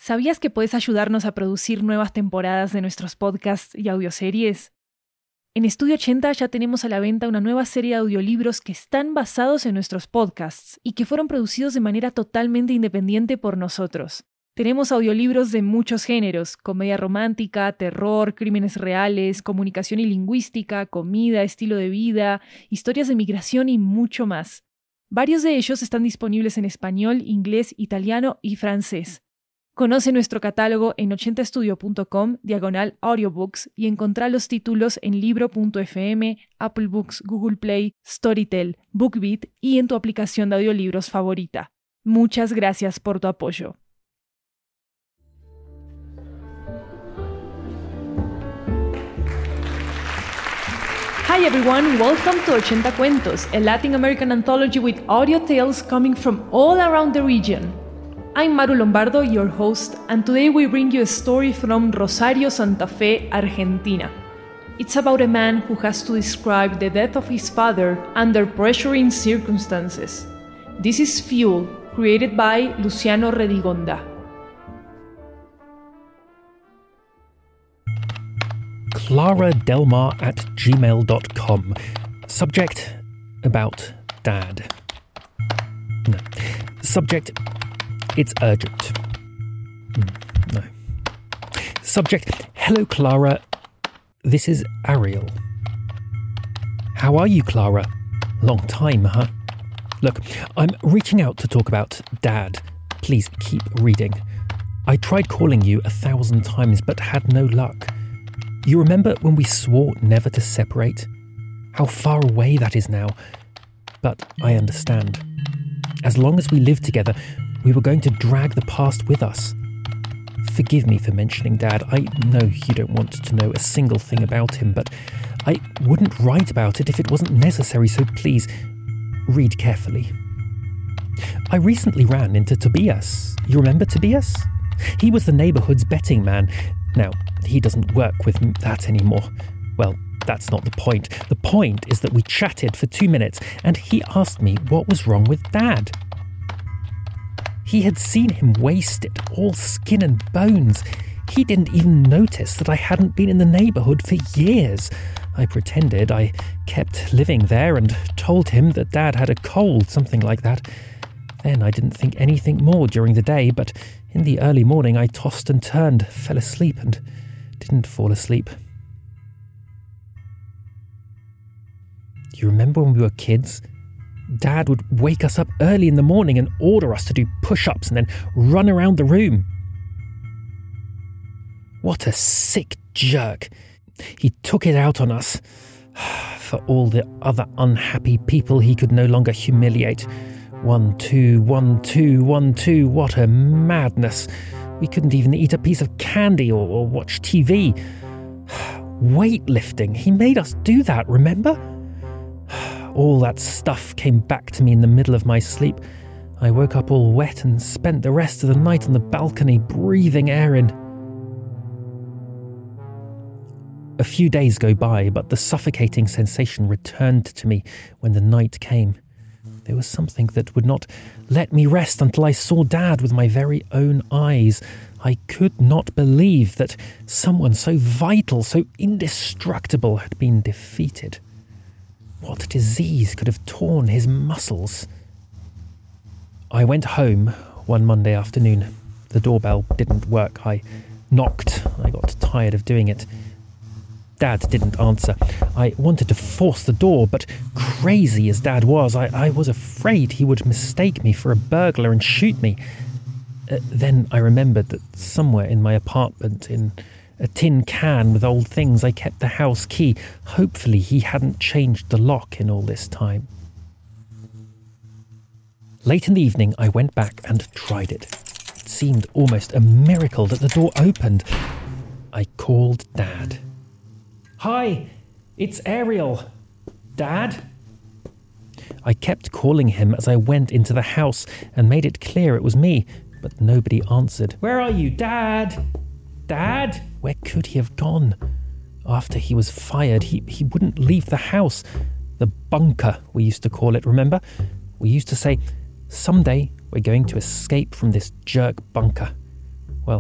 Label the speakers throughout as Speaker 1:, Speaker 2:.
Speaker 1: ¿Sabías que puedes ayudarnos a producir nuevas temporadas de nuestros podcasts y audioseries? En Estudio 80 ya tenemos a la venta una nueva serie de audiolibros que están basados en nuestros podcasts y que fueron producidos de manera totalmente independiente por nosotros. Tenemos audiolibros de muchos géneros: comedia romántica, terror, crímenes reales, comunicación y lingüística, comida, estilo de vida, historias de migración y mucho más. Varios de ellos están disponibles en español, inglés, italiano y francés. Conoce nuestro catálogo en 80estudio.com/audiobooks y encontrá los títulos en libro.fm, Apple Books, Google Play, Storytel, BookBeat y en tu aplicación de audiolibros favorita. Muchas gracias por tu apoyo. Hi everyone, welcome to 80 Cuentos, a Latin American anthology with audio tales coming from all around the region. I'm Maru Lombardo, your host, and today we bring you a story from Rosario, Santa Fe, Argentina. It's about a man who has to describe the death of his father under pressuring circumstances. This is Fuel, created by Luciano Redigonda.
Speaker 2: claradelmar@gmail.com. Subject: about dad. No. Subject: it's urgent. No. Subject: hello Clara, this is Ariel. How are you, Clara? Long time, huh? Look, I'm reaching out to talk about Dad. Please keep reading. I tried calling you 1,000 times but had no luck. You remember when we swore never to separate? How far away that is now. But I understand. As long as we live together, we were going to drag the past with us. Forgive me for mentioning Dad. I know you don't want to know a single thing about him, but I wouldn't write about it if it wasn't necessary, so please, read carefully. I recently ran into Tobias. You remember Tobias? He was the neighbourhood's betting man. Now, he doesn't work with that anymore. Well, that's not the point. The point is that we chatted for 2 minutes and he asked me what was wrong with Dad. He had seen him wasted, all skin and bones. He didn't even notice that I hadn't been in the neighbourhood for years. I pretended I kept living there and told him that Dad had a cold, something like that. Then I didn't think anything more during the day, but in the early morning I tossed and turned, fell asleep and didn't fall asleep. Do you remember when we were kids? Dad would wake us up early in the morning and order us to do push-ups and then run around the room. What a sick jerk. He took it out on us. For all the other unhappy people he could no longer humiliate. 1, 2, 1, 2, 1, 2, what a madness. We couldn't even eat a piece of candy or watch TV. Weightlifting, he made us do that, remember? All that stuff came back to me in the middle of my sleep. I woke up all wet and spent the rest of the night on the balcony breathing air in. A few days go by, but the suffocating sensation returned to me when the night came. There was something that would not let me rest until I saw Dad with my very own eyes. I could not believe that someone so vital, so indestructible had been defeated. What disease could have torn his muscles? I went home one Monday afternoon. The doorbell didn't work. I knocked. I got tired of doing it. Dad didn't answer. I wanted to force the door, but crazy as Dad was, I was afraid he would mistake me for a burglar and shoot me. Then I remembered that somewhere in my apartment, in a tin can with old things, I kept the house key. Hopefully he hadn't changed the lock in all this time. Late in the evening, I went back and tried it. It seemed almost a miracle that the door opened. I called Dad. Hi, it's Ariel. Dad? I kept calling him as I went into the house and made it clear it was me, but nobody answered. Where are you, Dad? Dad? Where could he have gone? After he was fired, he wouldn't leave the house. The bunker, we used to call it, remember? We used to say, someday we're going to escape from this jerk bunker. Well,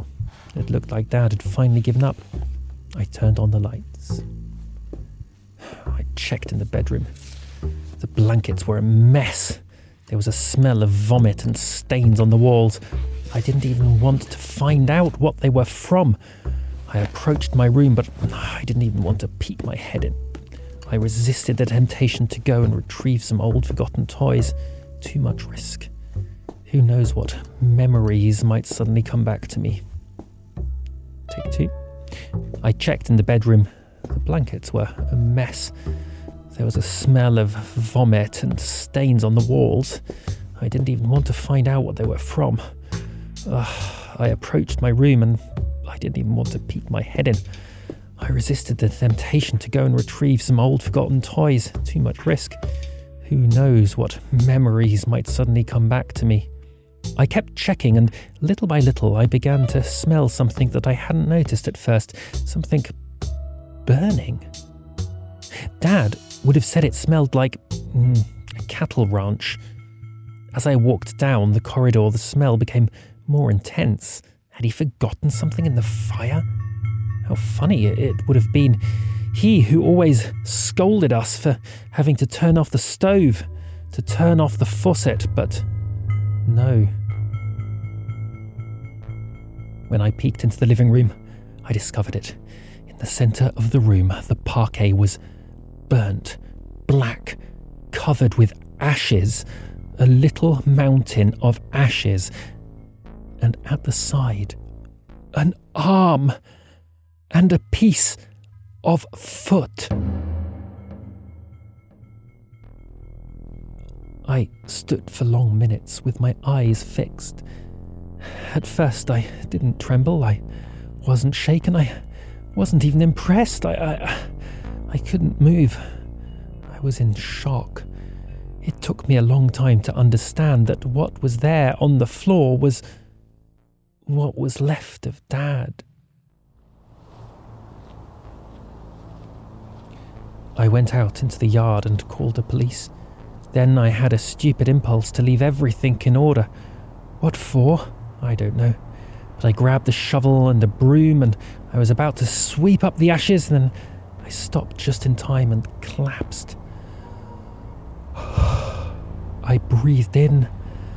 Speaker 2: It looked like Dad had finally given up. I turned on the lights. I checked in the bedroom. The blankets were a mess. There was a smell of vomit and stains on the walls. I didn't even want to find out what they were from. I approached my room, but I didn't even want to peek my head in. I resisted the temptation to go and retrieve some old forgotten toys. Too much risk. Who knows what memories might suddenly come back to me. Take two. I checked in the bedroom. The blankets were a mess. There was a smell of vomit and stains on the walls. I didn't even want to find out what they were from. I approached my room and I didn't even want to peek my head in. I resisted the temptation to go and retrieve some old forgotten toys. Too much risk. Who knows what memories might suddenly come back to me. I kept checking, and little by little I began to smell something that I hadn't noticed at first. Something burning. Dad would have said it smelled like a cattle ranch. As I walked down the corridor, the smell became more intense. Had he forgotten something in the fire? How funny it would have been. He who always scolded us for having to turn off the stove, to turn off the faucet, but no. When I peeked into the living room, I discovered it. In the centre of the room, the parquet was burnt, black, covered with ashes, a little mountain of ashes, and at the side, an arm and a piece of foot. I stood for long minutes with my eyes fixed. At first I didn't tremble, I wasn't shaken, I wasn't even impressed. I couldn't move. I was in shock. It took me a long time to understand that what was there on the floor was what was left of Dad. I went out into the yard and called the police. Then I had a stupid impulse to leave everything in order. What for? I don't know. But I grabbed the shovel and a broom and I was about to sweep up the ashes, and then I stopped just in time and collapsed. I breathed in.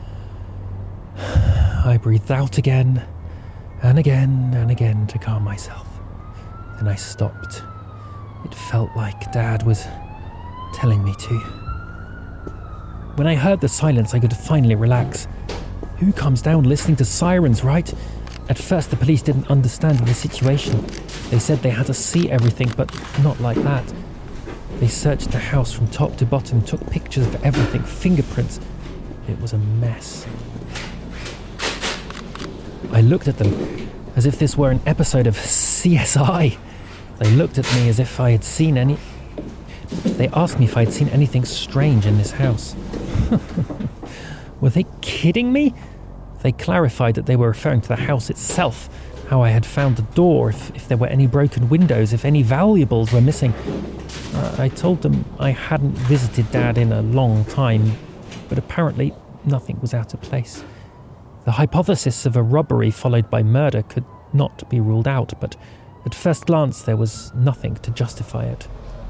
Speaker 2: I breathed out again and again and again to calm myself. Then I stopped. It felt like Dad was telling me to. When I heard the silence, I could finally relax. Who comes down listening to sirens, right? At first, the police didn't understand the situation. They said they had to see everything, but not like that. They searched the house from top to bottom, took pictures of everything, fingerprints. It was a mess. I looked at them as if this were an episode of CSI. They looked at me as if I had seen any... They asked me if I had seen anything strange in this house. Were they kidding me? They clarified that they were referring to the house itself, how I had found the door, if there were any broken windows, if any valuables were missing. I told them I hadn't visited Dad in a long time, but apparently nothing was out of place. The hypothesis of a robbery followed by murder could not be ruled out, but at first glance there was nothing to justify it.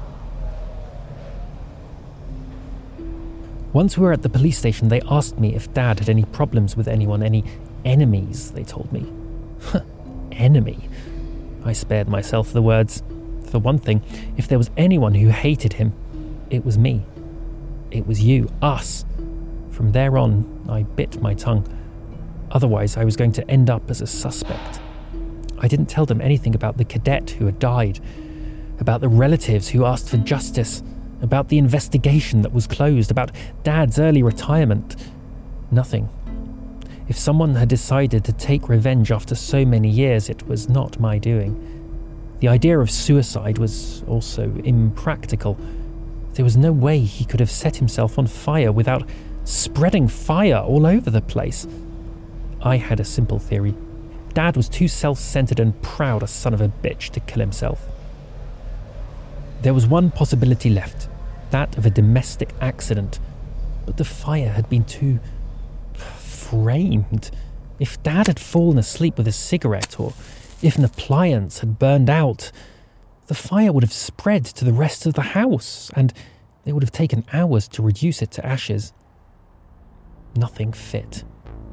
Speaker 2: Once we were at the police station, they asked me if Dad had any problems with anyone, any enemies, they told me. Enemy? I spared myself the words. For one thing, if there was anyone who hated him, it was me. It was you, us. From there on, I bit my tongue. Otherwise, I was going to end up as a suspect. I didn't tell them anything about the cadet who had died, about the relatives who asked for justice, about the investigation that was closed, about Dad's early retirement. Nothing. If someone had decided to take revenge after so many years, it was not my doing. The idea of suicide was also impractical. There was no way he could have set himself on fire without spreading fire all over the place. I had a simple theory. Dad was too self-centered and proud a son of a bitch to kill himself. There was one possibility left, that of a domestic accident, but the fire had been too framed. If Dad had fallen asleep with a cigarette, or if an appliance had burned out, the fire would have spread to the rest of the house, and it would have taken hours to reduce it to ashes. Nothing fit.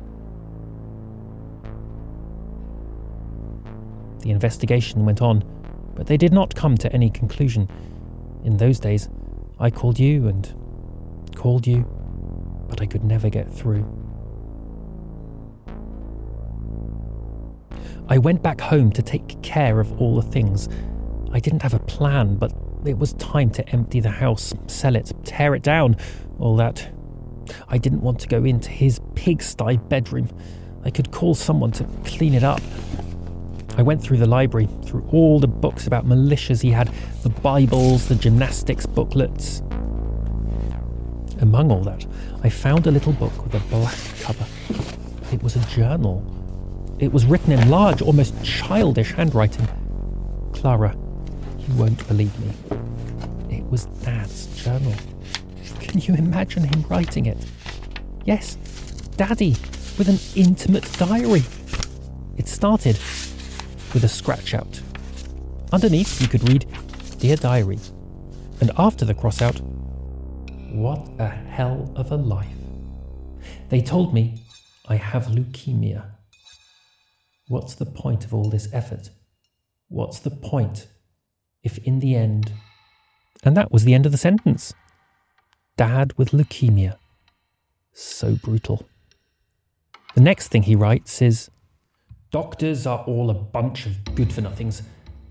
Speaker 2: The investigation went on, but they did not come to any conclusion. In those days, I called you and called you, but I could never get through. I went back home to take care of all the things. I didn't have a plan, but it was time to empty the house, sell it, tear it down, all that. I didn't want to go into his pigsty bedroom. I could call someone to clean it up. I went through the library, through all the books about militias he had, the Bibles, the gymnastics booklets. Among all that, I found a little book with a black cover. It was a journal. It was written in large, almost childish handwriting. Clara, you won't believe me. It was Dad's journal. Can you imagine him writing it? Yes, Daddy, with an intimate diary. It started with a scratch out. Underneath, you could read, "Dear Diary." And after the cross out, "What a hell of a life. They told me I have leukemia. What's the point of all this effort? What's the point if in the end..." And that was the end of the sentence. Dad with leukemia. So brutal. The next thing he writes is, "Doctors are all a bunch of good-for-nothings.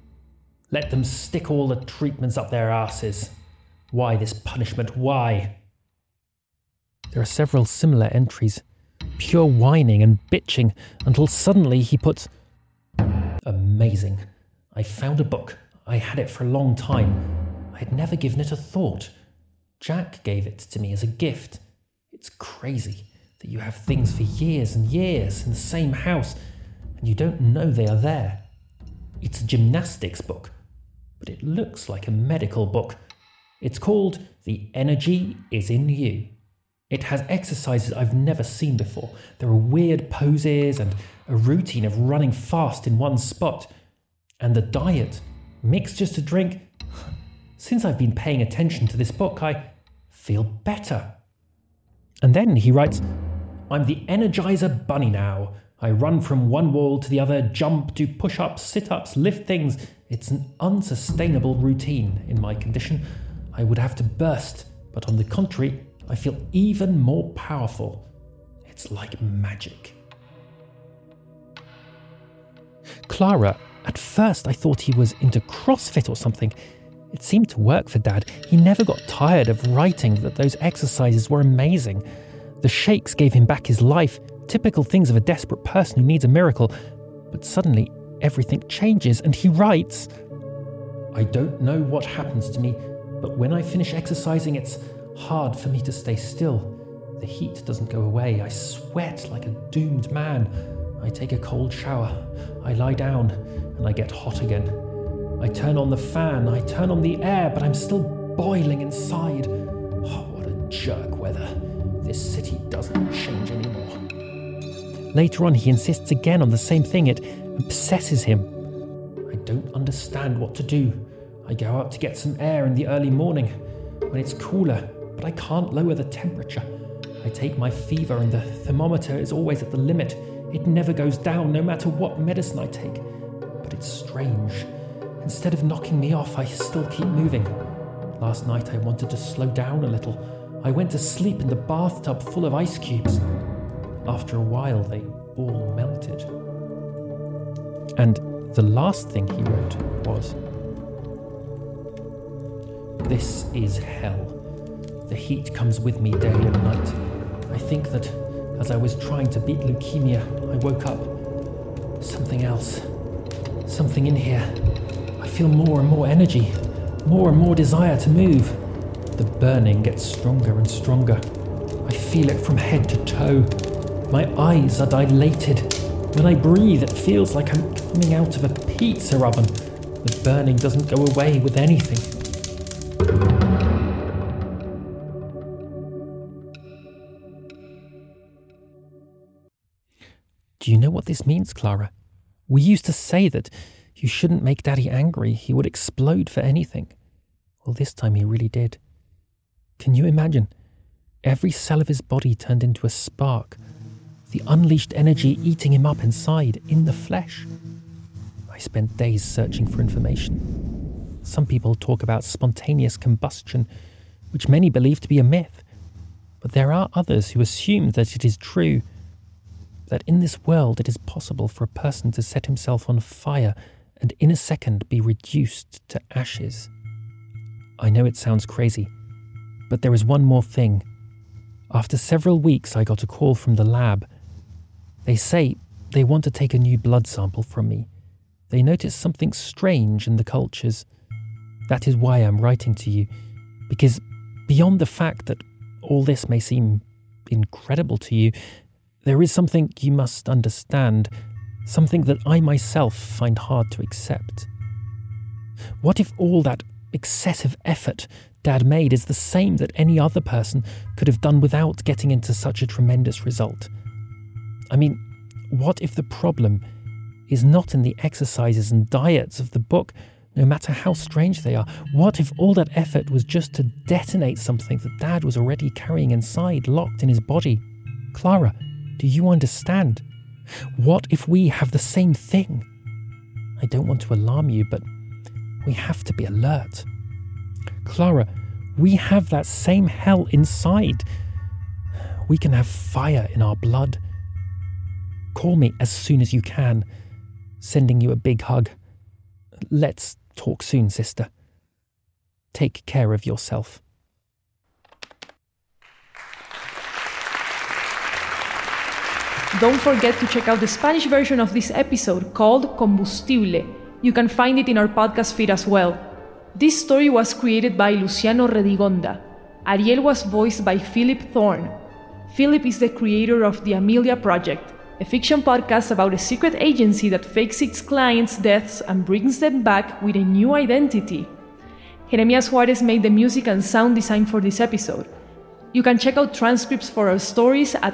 Speaker 2: Let them stick all the treatments up their asses. Why this punishment? Why?" There are several similar entries. Pure whining and bitching, until suddenly he puts, "Amazing. I found a book. I had it for a long time. I had never given it a thought. Jack gave it to me as a gift. It's crazy that you have things for years and years in the same house, and you don't know they are there. It's a gymnastics book, but it looks like a medical book. It's called The Energy Is in You. It has exercises I've never seen before. There are weird poses and a routine of running fast in one spot. And the diet, mixtures to drink. Since I've been paying attention to this book, I feel better." And then he writes, "I'm the Energizer Bunny now. I run from one wall to the other, jump, do push-ups, sit-ups, lift things. It's an unsustainable routine. In my condition, I would have to burst, but on the contrary, I feel even more powerful. It's like magic." Clara, at first I thought he was into CrossFit or something. It seemed to work for Dad. He never got tired of writing that those exercises were amazing. The shakes gave him back his life, typical things of a desperate person who needs a miracle. But suddenly, everything changes, and he writes, "I don't know what happens to me, but when I finish exercising, it's hard for me to stay still. The heat doesn't go away. I sweat like a doomed man. I take a cold shower. I lie down, and I get hot again. I turn on the fan, I turn on the air, but I'm still boiling inside. Oh, what a jerk weather. This city doesn't change anymore." Later on, he insists again on the same thing. It obsesses him. "I don't understand what to do. I go out to get some air in the early morning when it's cooler, but I can't lower the temperature. I take my fever and the thermometer is always at the limit. It never goes down no matter what medicine I take. But it's strange. Instead of knocking me off, I still keep moving. Last night I wanted to slow down a little. I went to sleep in the bathtub full of ice cubes. After a while, they all melted." And the last thing he wrote was, "This is hell. The heat comes with me day and night. I think that as I was trying to beat leukemia, I woke up. Something else. Something in here. I feel more and more energy, more and more desire to move. The burning gets stronger and stronger. I feel it from head to toe. My eyes are dilated. When I breathe, it feels like I'm coming out of a pizza oven. The burning doesn't go away with anything." Do Do you know what this means, Clara? We used to say that you shouldn't make Daddy angry. He would explode for anything. Well, this time he really did. Can you imagine? Every cell of his body turned into a spark. The unleashed energy eating him up inside, in the flesh. I spent days searching for information. Some people talk about spontaneous combustion, which many believe to be a myth. But there are others who assume that it is true, that in this world it is possible for a person to set himself on fire and in a second be reduced to ashes. I know it sounds crazy, but there is one more thing. After several weeks, I got a call from the lab. They say they want to take a new blood sample from me. They noticed something strange in the cultures. That is why I'm writing to you, because beyond the fact that all this may seem incredible to you, there is something you must understand, something that I myself find hard to accept. What if all that excessive effort Dad made is the same that any other person could have done without getting into such a tremendous result? I mean, what if the problem is not in the exercises and diets of the book, no matter how strange they are? What if all that effort was just to detonate something that Dad was already carrying inside, locked in his body? Clara, do you understand? What if we have the same thing? I don't want to alarm you, but we have to be alert. Clara, we have that same hell inside. We can have fire in our blood. Call me as soon as you can. Sending you a big hug. Let's talk soon, sister. Take care of yourself.
Speaker 1: Don't forget to check out the Spanish version of this episode called Combustible. You can find it in our podcast feed as well. This story was created by Luciano Redigonda. Ariel was voiced by Philip Thorne. Philip is the creator of The Amelia Project, a fiction podcast about a secret agency that fakes its clients' deaths and brings them back with a new identity. Jeremias Juarez made the music and sound design for this episode. You can check out transcripts for our stories at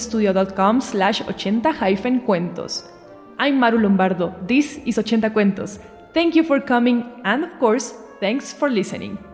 Speaker 1: 80studio.com/80-cuentos. I'm Maru Lombardo. This is 80 Cuentos. Thank you for coming, and of course, thanks for listening.